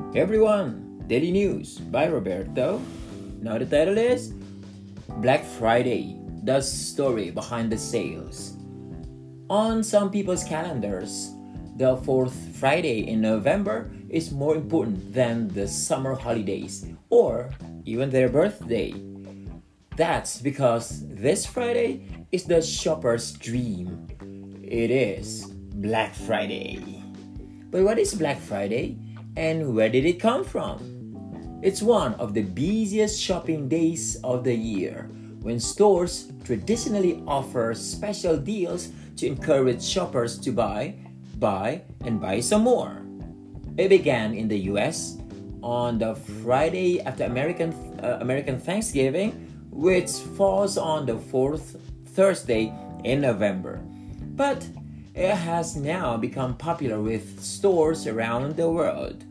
Hey everyone, Daily News by Roberto. Now the title is Black Friday, the story behind the sales. On some people's calendars, the fourth Friday in November is more important than the summer holidays or even their birthday. That's because this Friday is the shopper's dream. It is Black Friday. But what is Black Friday and where did it come from? It's one of the busiest shopping days of the year when stores traditionally offer special deals to encourage shoppers to buy, and buy some more. It began in the US on the Friday after American Thanksgiving, which falls on the fourth Thursday in November. But it has now become popular with stores around the world.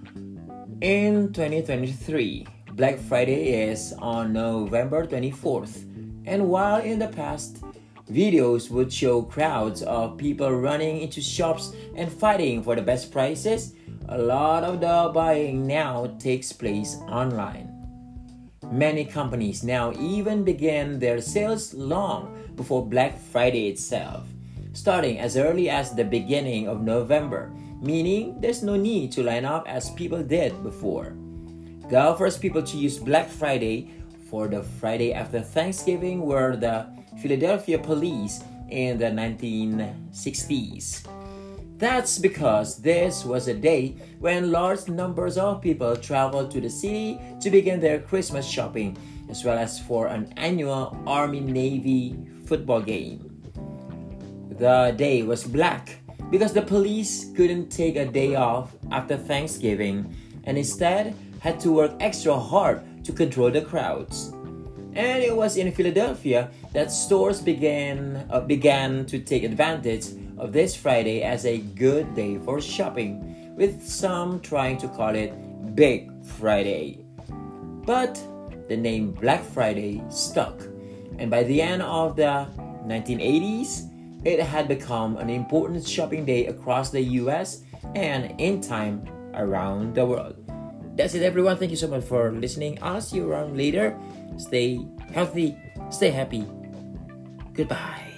In 2023, Black Friday is on November 24th, and while in the past, videos would show crowds of people running into shops and fighting for the best prices, a lot of the buying now takes place online. Many companies now even begin their sales long before Black Friday itself, starting as early as the beginning of November, meaning there's no need to line up as people did before. The first people to use Black Friday for the Friday after Thanksgiving were the Philadelphia police in the 1960s. That's because this was a day when large numbers of people traveled to the city to begin their Christmas shopping, as well as for an annual Army-Navy football game. The day was black because the police couldn't take a day off after Thanksgiving and instead had to work extra hard to control the crowds. And it was in Philadelphia that stores began to take advantage of this Friday as a good day for shopping, with some trying to call it Big Friday. But the name Black Friday stuck, and by the end of the 1980s, it had become an important shopping day across the US and in time around the world. That's it, everyone. Thank you so much for listening. I'll see you around later. Stay healthy, stay happy. Goodbye.